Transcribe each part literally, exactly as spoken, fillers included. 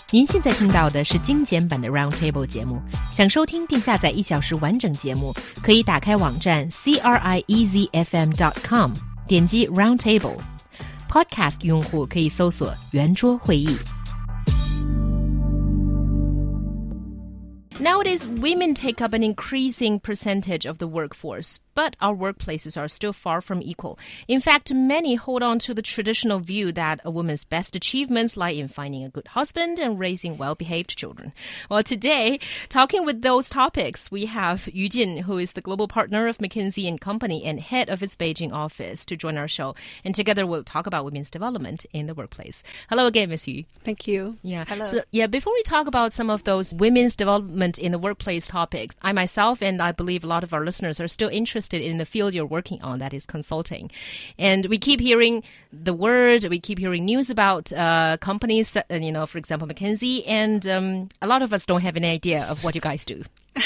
您现在听到的是精简版的 Roundtable 节目。想收听并下载一小时完整节目，可以打开网站 c r i e z f m dot com， 点击 Roundtable。Podcast 用户可以搜索圆桌会议。Nowadays, women take up an increasing percentage of the workforce, but our workplaces are still far from equal. In fact, many hold on to the traditional view that a woman's best achievements lie in finding a good husband and raising well-behaved children. Well, today, talking with those topics, we have Yu Jin, who is the global partner of McKinsey and Company and head of its Beijing office, to join our show. And together, we'll talk about women's development in the workplace. Hello again, Miss Yu. Thank you. Yeah. Hello. So, yeah, before we talk about some of those women's development in the workplace topics, I myself and I believe a lot of our listeners are still interested in the field you're working on, that is consulting. And we keep hearing the word, we keep hearing news about uh, companies, uh, you know, for example, McKinsey, and um, a lot of us don't have any idea of what you guys do.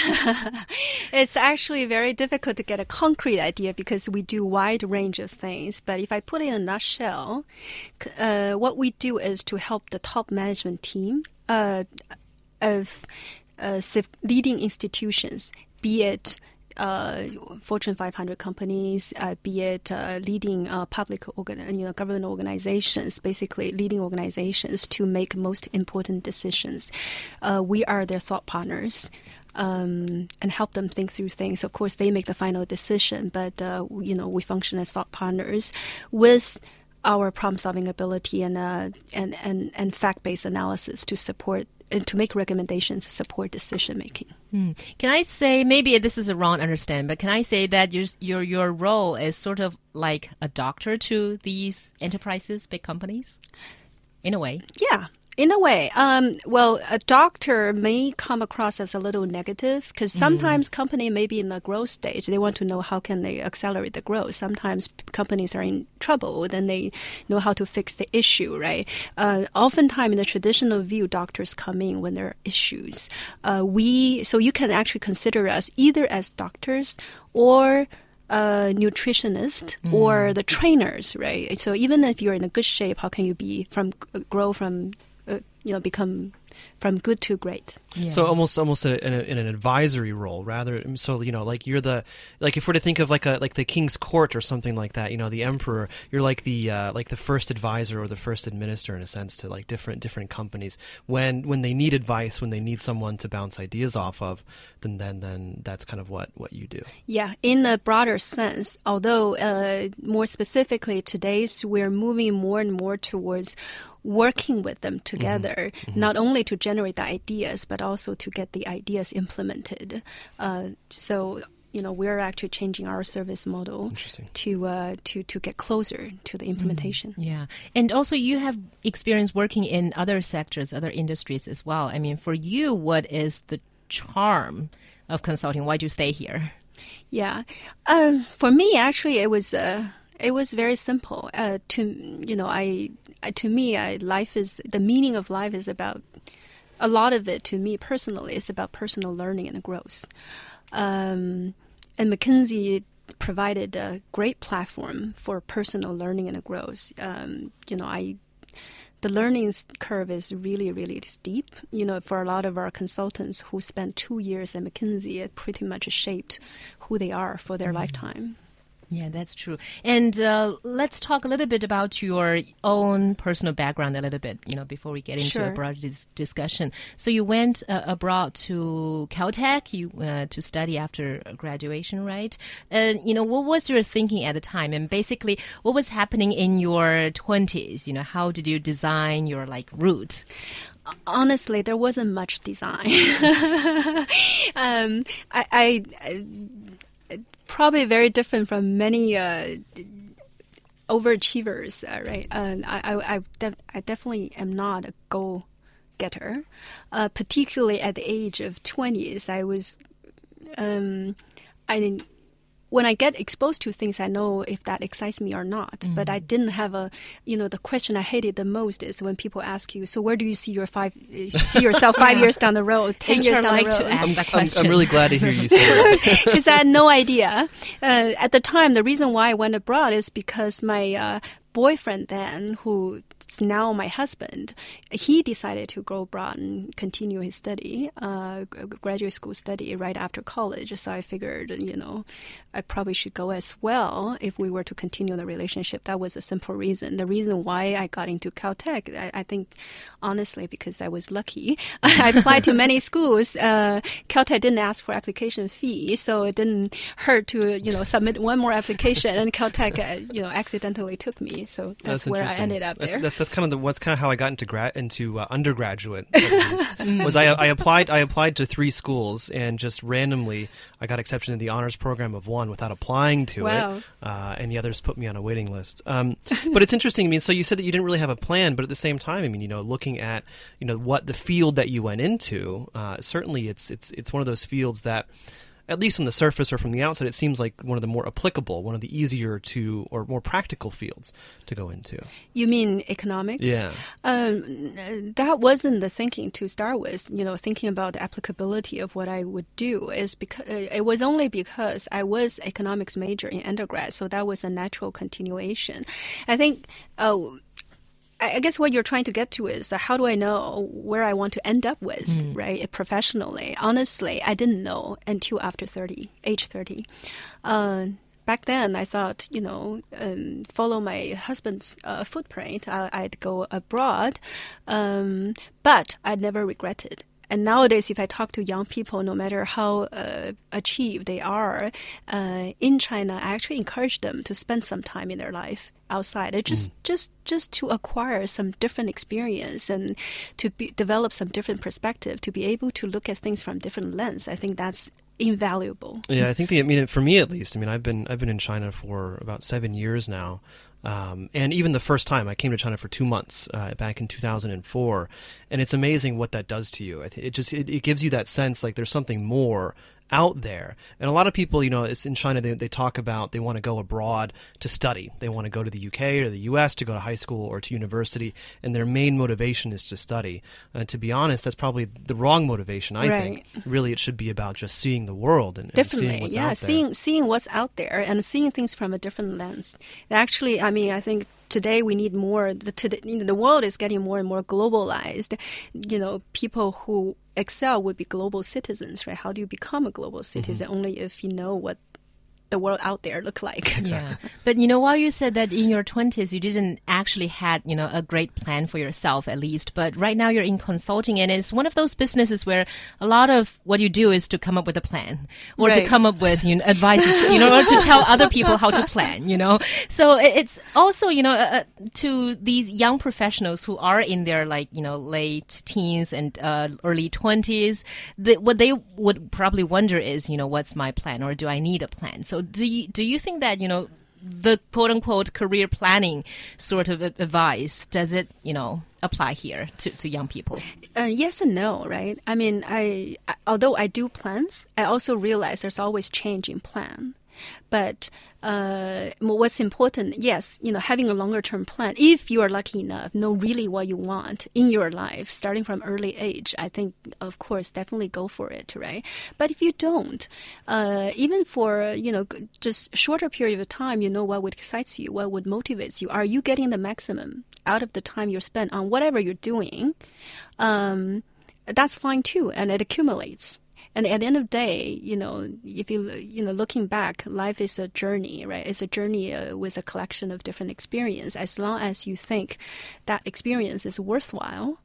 It's actually very difficult to get a concrete idea because we do a wide range of things. But if I put it in a nutshell, uh, what we do is to help the top management team uh, of uh, leading institutions, be it Uh, Fortune five hundred companies, uh, be it uh, leading uh, public organ, you know, government organizations, basically leading organizations to make most important decisions. Uh, we are their thought partners um, and help them think through things. Of course, they make the final decision, but uh, you know, we function as thought partners with our problem-solving ability and uh, and and and fact-based analysis to support and to make recommendations, support decision-making. Mm. Can I say, maybe this is a wrong understanding, but can I say that your your your role is sort of like a doctor to these enterprises, big companies, in a way? Yeah. In a way, um, well, a doctor may come across as a little negative because sometimes mm. company may be in the growth stage. They want to know how can they accelerate the growth. Sometimes companies are in trouble, then they know how to fix the issue, right? Uh, oftentimes in the traditional view, doctors come in when there are issues. Uh, we so you can actually consider us either as doctors or a nutritionist mm. or the trainers, right? So even if you're in a good shape, how can you be from grow from Uh, you know, become from good to great. Yeah. So almost, almost a, in, a, in an advisory role, rather. So you know, like you're the, like if we're to think of like a like the king's court or something like that, you know, the emperor. You're like the uh, like the first advisor or the first administrator in a sense to like different different companies when when they need advice, when they need someone to bounce ideas off of. Then then then that's kind of what what you do. Yeah, in a broader sense. Although uh, more specifically, today's we're moving more and more towards working with them together, mm-hmm. not only to generate the ideas, but also to get the ideas implemented. Uh, so, you know, we're actually changing our service model to uh, to to get closer to the implementation. Mm, yeah. And also you have experience working in other sectors, other industries as well. I mean, for you, what is the charm of consulting? Why do you stay here? Yeah. Um, for me, actually, it was... Uh, It was very simple. Uh, to you know, I to me, I, life is the meaning of life is about a lot of it. To me personally, is about personal learning and growth. Um, and McKinsey provided a great platform for personal learning and growth. Um, you know, I the learning curve is really, really steep. You know, for a lot of our consultants who spent two years at McKinsey, it pretty much shaped who they are for their mm-hmm. lifetime. Yeah, that's true. And uh, let's talk a little bit about your own personal background a little bit, you know, before we get into sure. a broader dis- discussion. So you went uh, abroad to Caltech you, uh, to study after graduation, right? Uh, you know, what was your thinking at the time? And basically, what was happening in your twenties? You know, how did you design your, like, route? Honestly, there wasn't much design. um, I... I, I Probably very different from many uh, overachievers, uh, right? Uh, I I I, def- I definitely am not a goal-getter. Uh, particularly at the age of twenties, I was, um, I didn't. When I get exposed to things, I know if that excites me or not. Mm-hmm. But I didn't have a, you know, the question I hated the most is when people ask you, so where do you see your five, see yourself five years down the road, ten H R years down like the road? To ask I'm, that question. I'm, I'm really glad to hear you say that. Because I had no idea. Uh, at the time, the reason why I went abroad is because my uh, boyfriend then, who now my husband, he decided to go abroad and continue his study, uh, graduate school study right after college. So I figured, you know, I probably should go as well if we were to continue the relationship. That was a simple reason. The reason why I got into Caltech, I, I think, honestly, because I was lucky. I applied to many schools. Uh, Caltech didn't ask for application fee, so it didn't hurt to, you know, submit one more application. And Caltech, uh, you know, accidentally took me. So that's, that's where I ended up that's, there. That's, that's kind of the, what's kind of how I got into grad into uh, undergraduate. At least, was I, I applied I applied to three schools, and just randomly I got accepted into the honors program of one without applying to wow. it, uh, and the others put me on a waiting list. Um, but it's interesting. I mean, so you said that you didn't really have a plan, but at the same time, I mean, you know, looking at you know what the field that you went into, uh, certainly it's it's it's one of those fields that, at least on the surface or from the outside, it seems like one of the more applicable, one of the easier to or more practical fields to go into. You mean economics? Yeah. Um, that wasn't the thinking to start with. You know, thinking about the applicability of what I would do is because it was only because I was economics major in undergrad, so that was a natural continuation. I think. Oh. I guess what you're trying to get to is uh, how do I know where I want to end up with, mm. right, professionally? Honestly, I didn't know until after thirty, age thirty. Uh, back then, I thought, you know, um, follow my husband's uh, footprint. I, I'd go abroad, um, but I'd never regretted. And nowadays, if I talk to young people, no matter how uh, achieved they are uh, in China, I actually encourage them to spend some time in their life outside. It just, mm. just, just to acquire some different experience and to be, develop some different perspective, to be able to look at things from different lens. I think that's invaluable. Yeah, I think the, I mean, for me at least, I mean, I've been I've been in China for about seven years now. Um, and even the first time I came to China for two months uh, back in two thousand four, and it's amazing what that does to you. It, it just it, it gives you that sense like there's something more out there. And a lot of people, you know, it's in China, they, they talk about they want to go abroad to study. They want to go to the U K or the U S to go to high school or to university, and their main motivation is to study. Uh, to be honest, that's probably the wrong motivation, I right. think. Really, it should be about just seeing the world and, and Definitely, seeing what's yeah, out there. seeing, seeing what's out there and seeing things from a different lens. Actually, I mean, I think today we need more. The, today, you know, the world is getting more and more globalized. You know, people who excel would be global citizens, right? How do you become a global citizen? Mm-hmm. Only if you know what the world out there look like. Exactly. Yeah. But, you know, while you said that in your twenties, you didn't actually had, you know, a great plan for yourself, at least. But right now you're in consulting, and it's one of those businesses where a lot of what you do is to come up with a plan or right. to come up with, you know, advices, you know, or to tell other people how to plan, you know. So it's also, you know, uh, to these young professionals who are in their, like, you know, late teens and uh, early twenties, the, what they would probably wonder is, you know, what's my plan, or do I need a plan? So do you, do you think that, you know, the quote-unquote career planning sort of advice, does it, you know, apply here to, to young people? Uh, yes and no, right? I mean, I, I although I do plans, I also realize there's always change in plan. But uh, what's important, yes, you know, having a longer term plan, if you are lucky enough, know really what you want in your life, starting from early age, I think, of course, definitely go for it, right? But if you don't, uh, even for, you know, just shorter period of time, you know what would excite you, what would motivate you. Are you getting the maximum out of the time you're spent on whatever you're doing? Um, that's fine too, and it accumulates. And at the end of the day, you know, if you, you know, looking back, life is a journey, right? It's a journey uh, with a collection of different experiences. As long as you think that experience is worthwhile,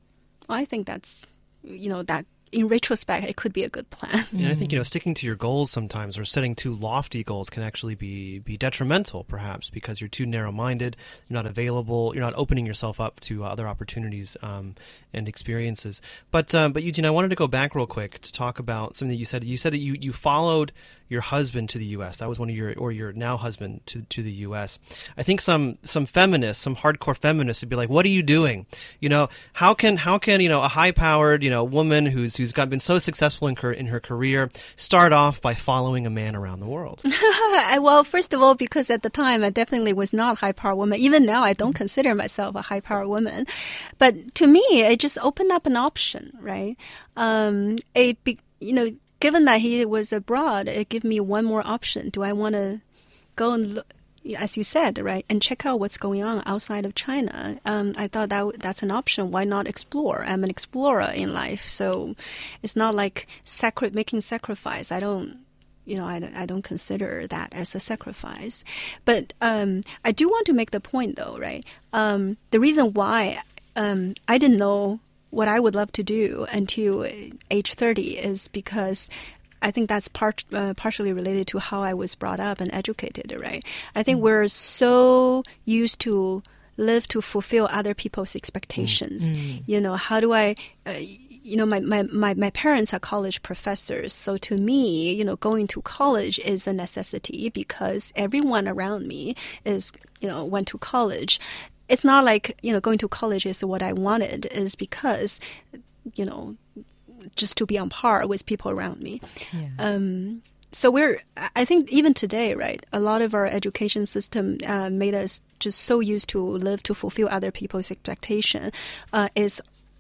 I think that's, you know, that in retrospect, it could be a good plan. Yeah, I think, you know, sticking to your goals sometimes or setting too lofty goals can actually be, be detrimental, perhaps, because you're too narrow-minded, you're not available, you're not opening yourself up to other opportunities um, and experiences. But, um, but Eugene, I wanted to go back real quick to talk about something that you said. You said that you, you followed your husband to the U S. That was one of your, or your now husband to, to the U S. I think some, some feminists, some hardcore feminists would be like, what are you doing? You know, how can, how can, you know, a high-powered, you know, woman who's, who's got been so successful in her, in her career start off by following a man around the world? Well, first of all, because at the time I definitely was not a high-powered woman. Even now, I don't consider myself a high-powered woman. But to me, it just opened up an option, right? Um, it, be, you know, given that he was abroad, it gave me one more option. Do I want to go and look, as you said, right, and check out what's going on outside of China. Um, I thought that w- that's an option. Why not explore? I'm an explorer in life, so it's not like sacri- making sacrifice. I don't. You know, I, I don't consider that as a sacrifice. But um, I do want to make the point, though, right? Um, the reason why um, I didn't know what I would love to do until age thirty is because I think that's part uh, partially related to how I was brought up and educated, right? I think mm. we're so used to live to fulfill other people's expectations. Mm. You know, how do I... Uh, You know, my, my, my, my parents are college professors. So to me, you know, going to college is a necessity because everyone around me is, you know, went to college. It's not like, you know, going to college is what I wanted. Is because, you know, just to be on par with people around me. Yeah. Um, so we're, I think even today, right, a lot of our education system uh, made us just so used to live to fulfill other people's expectation uh, is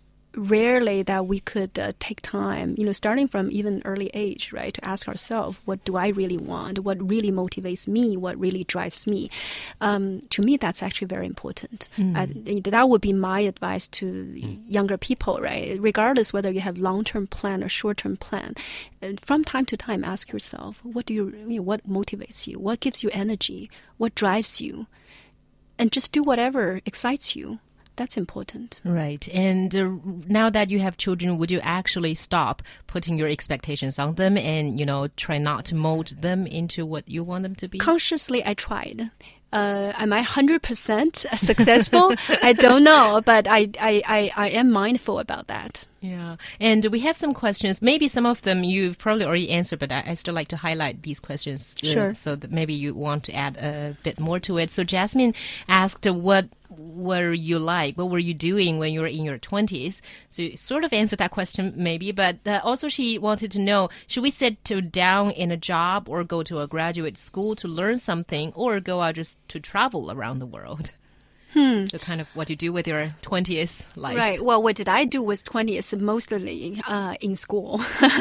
rarely that we could uh, take time, you know, starting from even early age, right, to ask ourselves, what do I really want? What really motivates me? What really drives me? Um, to me, that's actually very important. Mm. I, that would be my advice to mm. younger people, right? Regardless whether you have long-term plan or short-term plan, uh, from time to time, ask yourself, what do you, you know, what motivates you? What gives you energy? What drives you? And just do whatever excites you. That's important. Right. And uh, now that you have children, would you actually stop putting your expectations on them and, you know, try not to mold them into what you want them to be? Consciously, I tried. Uh, am I one hundred percent successful? I don't know, but I, I, I, I am mindful about that. Yeah. And we have some questions. Maybe some of them you've probably already answered, but I, I still like to highlight these questions. Uh, sure. So that maybe you want to add a bit more to it. So Jasmine asked, uh, what were you like? What were you doing when you were in your twenties? So you sort of answered that question maybe, but uh, also she wanted to know, should we settle down in a job or go to a graduate school to learn something or go out just to travel around the world? Hmm. So kind of what you do with your twentieth life. Right. Well, what did I do with twentieth? Mostly uh, in school,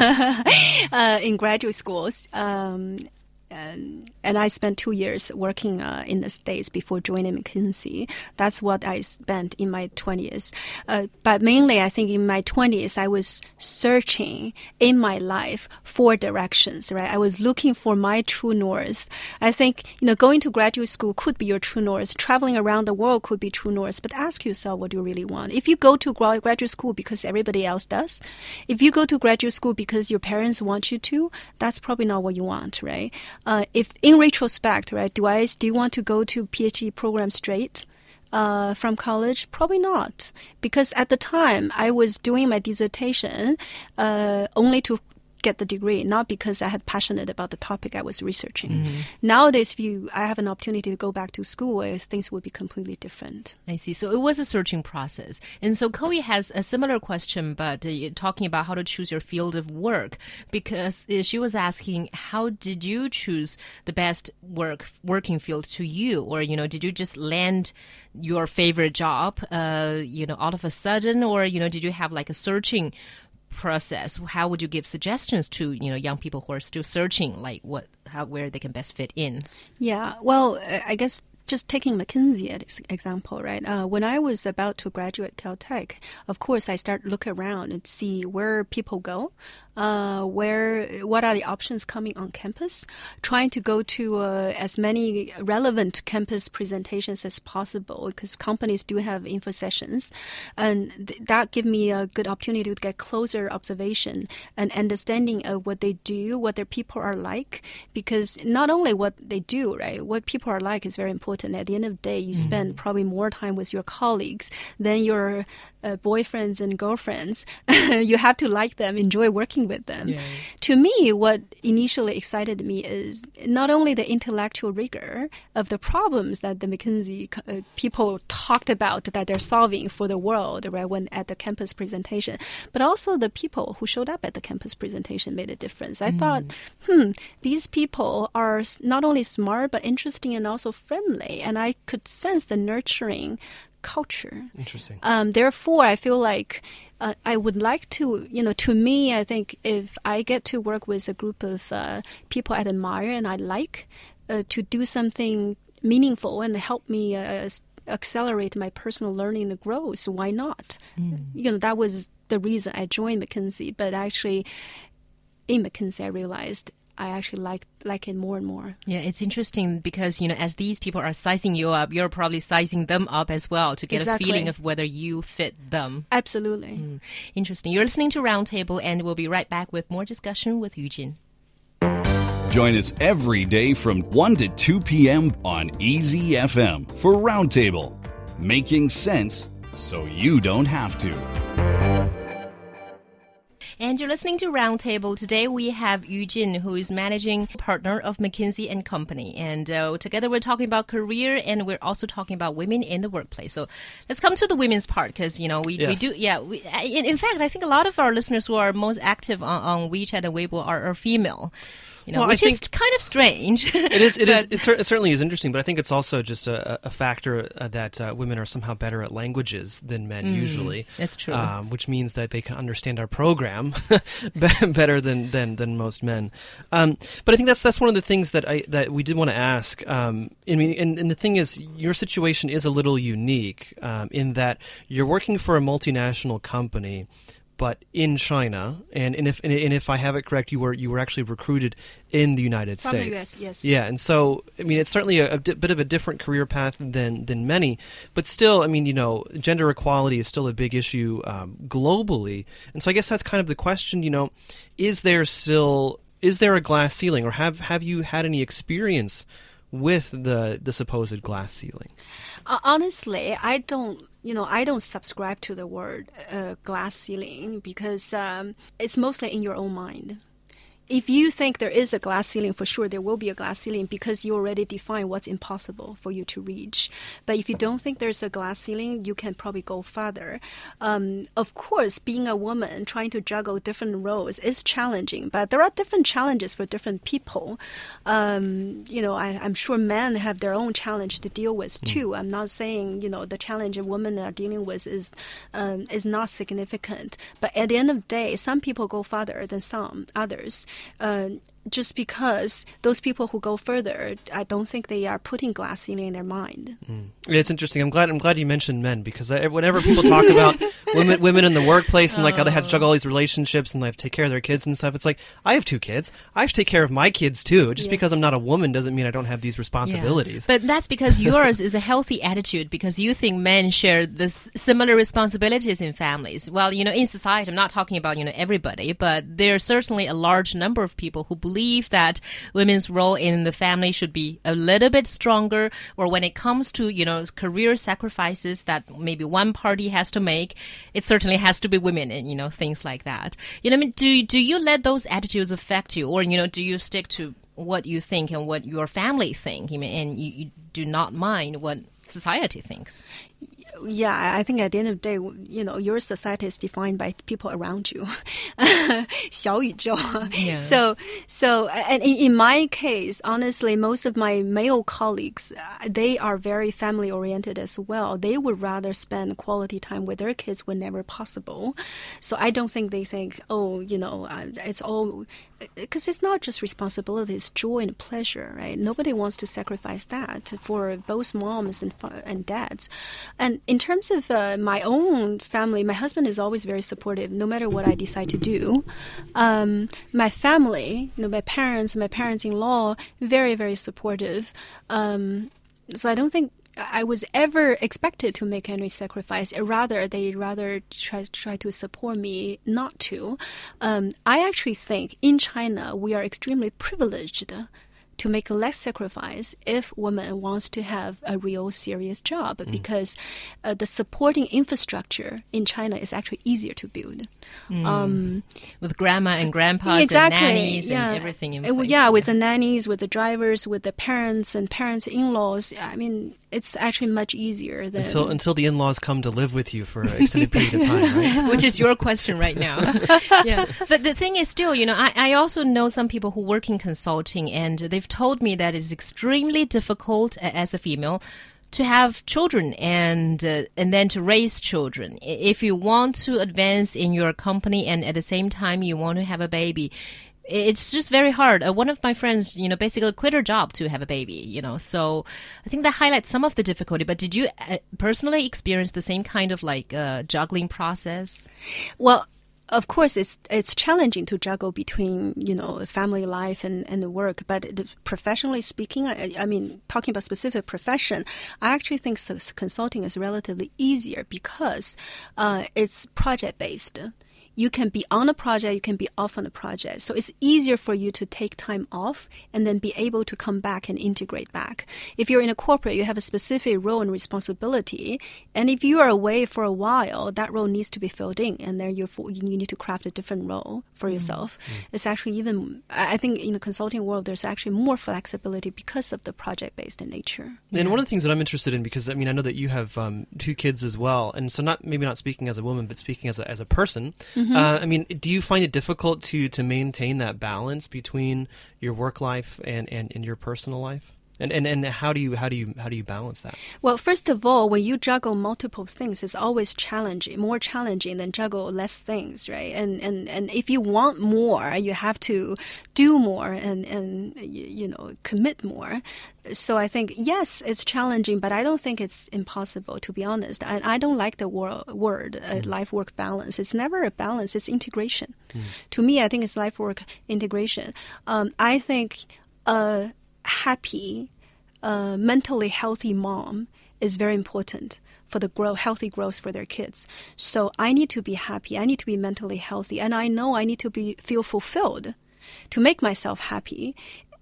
uh, in graduate schools. Um, And, and I spent two years working uh, in the States before joining McKinsey. That's what I spent in my twenties. Uh, but mainly, I think in my twenties, I was searching in my life for directions, right? I was looking for my true north. I think, you know, going to graduate school could be your true north. Traveling around the world could be true north. But ask yourself, what do you really want? If you go to graduate school because everybody else does, if you go to graduate school because your parents want you to, that's probably not what you want, right? Uh, if in retrospect, right, do I do you want to go to PhD program straight uh, from college? Probably not, because at the time I was doing my dissertation uh, only to get the degree, not because I had passionate about the topic I was researching. Mm-hmm. Nowadays, if you I have an opportunity to go back to school, things would be completely different. I see. So it was a searching process. And so Chloe has a similar question, but uh, talking about how to choose your field of work, because uh, she was asking, how did you choose the best work working field to you? Or, you know, did you just land your favorite job, uh, you know, all of a sudden? Or, you know, did you have like a searching process? How would you give suggestions to, you know, young people who are still searching, like what, how, where they can best fit in? Yeah, well, I guess just taking McKinsey as example, right? Uh, when I was about to graduate Caltech, of course, I start look around and see where people go. Uh, where what are the options coming on campus, trying to go to uh, as many relevant campus presentations as possible, because companies do have info sessions, and th- that give me a good opportunity to get closer observation and understanding of what they do, what their people are like, because not only what they do, right, what people are like is very important. At the end of the day, you mm-hmm. spend probably more time with your colleagues than your uh, boyfriends and girlfriends. You have to like them, enjoy working with them. Yeah. To me, what initially excited me is not only the intellectual rigor of the problems that the McKinsey uh, people talked about that they're solving for the world, right, when at the campus presentation, but also the people who showed up at the campus presentation made a difference. I mm. thought, hmm, these people are not only smart, but interesting and also friendly. And I could sense the nurturing culture. Interesting. Um, therefore, I feel like uh, I would like to, you know, to me, I think if I get to work with a group of uh, people I admire and I like, uh, to do something meaningful and help me uh, accelerate my personal learning and growth, why not? Mm. You know, that was the reason I joined McKinsey. But actually, in McKinsey, I realized I actually like like it more and more. Yeah, it's interesting because, you know, as these people are sizing you up, you're probably sizing them up as well to get exactly. a feeling of whether you fit them. Absolutely. Mm. Interesting. You're listening to Roundtable, and we'll be right back with more discussion with Yujin. Join us every day from one to two p.m. on E Z F M for Roundtable, making sense so you don't have to. And you're listening to Roundtable. Today we have Yujin, who is managing partner of McKinsey and Company. And uh, together we're talking about career, and we're also talking about women in the workplace. So let's come to the women's part, because, you know, we, yes. we do, yeah. We, in, in fact, I think a lot of our listeners who are most active on, on WeChat and Weibo are, are female. You know, well, which I is kind of strange. It is. It is. It, cer- it certainly is interesting, but I think it's also just a, a factor uh, that uh, women are somehow better at languages than men mm, usually. That's true. Um, which means that they can understand our program better than, than, than most men. Um, but I think that's that's one of the things that I that we did want to ask. Um, I mean, and, and the thing is, your situation is a little unique um, in that you're working for a multinational company, but in China, and, and if and if I have it correct, you were you were actually recruited in the United From States. the U S, yes. Yeah, and so I mean, it's certainly a, a di- bit of a different career path than than many, but still, I mean, you know, gender equality is still a big issue um, globally, and so I guess that's kind of the question. You know, is there still is there a glass ceiling, or have have you had any experience with the the supposed glass ceiling? Uh, honestly, I don't. You know, I don't subscribe to the word uh, glass ceiling because um, it's mostly in your own mind. If you think there is a glass ceiling, for sure there will be a glass ceiling because you already define what's impossible for you to reach. But if you don't think there's a glass ceiling, you can probably go further. Um, of course, being a woman trying to juggle different roles is challenging, but there are different challenges for different people. Um, you know, I, I'm sure men have their own challenge to deal with too. Mm. I'm not saying, you know, the challenge that women are dealing with is um, is not significant. But at the end of the day, some people go further than some others. Uh, just because those people who go further, I don't think they are putting glass ceiling in their mind. Mm. It's interesting. I'm glad. I'm glad you mentioned men because I, whenever people talk about women, women in the workplace and like how they have to juggle all these relationships and they have to take care of their kids and stuff, it's like I have two kids. I have to take care of my kids too. Just yes. because I'm not a woman doesn't mean I don't have these responsibilities. Yeah. But that's because yours is a healthy attitude because you think men share this similar responsibilities in families. Well, you know, in society, I'm not talking about you know everybody, but there's certainly a large number of people who believe believe that women's role in the family should be a little bit stronger, or when it comes to, you know, career sacrifices that maybe one party has to make, it certainly has to be women and, you know, things like that. You know, I mean, do, do you let those attitudes affect you, or, you know, do you stick to what you think and what your family think, I mean, and you, you do not mind what society thinks? Yeah, I think at the end of the day, you know, your society is defined by people around you. 小宇宙. Yeah. So, so, and in my case, honestly, most of my male colleagues, they are very family oriented as well. They would rather spend quality time with their kids whenever possible. So I don't think they think, oh, you know, it's all, because it's not just responsibility, it's joy and pleasure, right? Nobody wants to sacrifice that for both moms and and dads. And in terms of uh, my own family, my husband is always very supportive, no matter what I decide to do. Um, my family, you know, my parents, my parents-in-law, very, very supportive. Um, so I don't think I was ever expected to make any sacrifice. Rather, they rather try try to support me not to. Um, I actually think in China we are extremely privileged to make less sacrifice if woman wants to have a real serious job, mm. because uh, the supporting infrastructure in China is actually easier to build. Mm. Um, with grandma and grandpas exactly, and nannies yeah. and everything in place. place. Yeah, with the nannies, with the drivers, with the parents and parents-in-laws. I mean, it's actually much easier than... Until, until the in-laws come to live with you for an extended period of time, right? Which is your question right now. Yeah. But the thing is still, you know, I, I also know some people who work in consulting, and they've told me that it's extremely difficult uh, as a female to have children and uh, and then to raise children. If you want to advance in your company and at the same time you want to have a baby, it's just very hard. Uh, one of my friends, you know, basically quit her job to have a baby, you know. So I think that highlights some of the difficulty. But did you uh, personally experience the same kind of like uh, juggling process? Well, of course, it's it's challenging to juggle between, you know, family life and, and the work. But the, professionally speaking, I, I mean, talking about specific profession, I actually think so, consulting is relatively easier because uh, it's project-based. You can be on a project, you can be off on a project. So it's easier for you to take time off and then be able to come back and integrate back. If you're in a corporate, you have a specific role and responsibility. And if you are away for a while, that role needs to be filled in. And then you're, you need to craft a different role for yourself. Mm-hmm. It's actually even, I think in the consulting world, there's actually more flexibility because of the project-based nature. And one of the things that I'm interested in, because I mean, I know that you have um, two kids as well. And so not maybe not speaking as a woman, but speaking as a, as a person, mm-hmm. Uh, I mean, do you find it difficult to, to maintain that balance between your work life and, and, and your personal life? And, and and how do you how do you how do you balance that? Well, first of all, when you juggle multiple things, it's always challenging, more challenging than juggle less things, right? And and, and if you want more, you have to do more and and you know commit more. So I think yes, it's challenging, but I don't think it's impossible. To be honest, and I, I don't like the wor- word uh, mm. life work balance. It's never a balance; it's integration. Mm. To me, I think it's life work integration. Um, I think. Uh, happy, uh, mentally healthy mom is very important for the grow, healthy growth for their kids. So I need to be happy. I need to be mentally healthy. And I know I need to be feel fulfilled to make myself happy.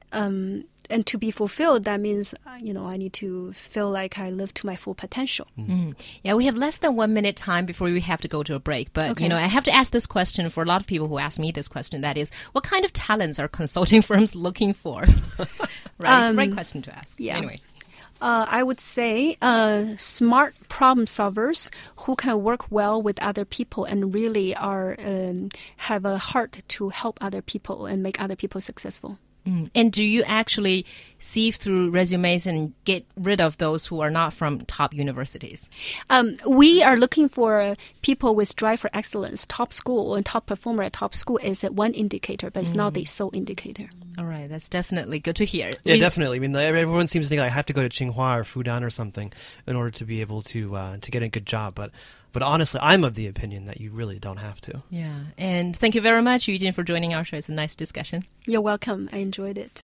Um, and to be fulfilled, that means, you know, I need to feel like I live to my full potential. Mm-hmm. Yeah, we have less than one minute time before we have to go to a break. But, okay. you know, I have to ask this question for a lot of people who ask me this question. That is, what kind of talents are consulting firms looking for? Right? Um, Great question to ask. Yeah. Anyway. Uh, I would say uh, smart problem solvers who can work well with other people and really are um, have a heart to help other people and make other people successful. Mm. And do you actually sieve through resumes and get rid of those who are not from top universities? Um, we are looking for people with drive for excellence. Top school and top performer at top school is one indicator, but it's mm. not the sole indicator. All right, that's definitely good to hear. Yeah, we, definitely. I mean, everyone seems to think like, I have to go to Tsinghua or Fudan or something in order to be able to uh, to get a good job, but. But honestly, I'm of the opinion that you really don't have to. Yeah. And thank you very much, Yu Jin, for joining our show. It's a nice discussion. You're welcome. I enjoyed it.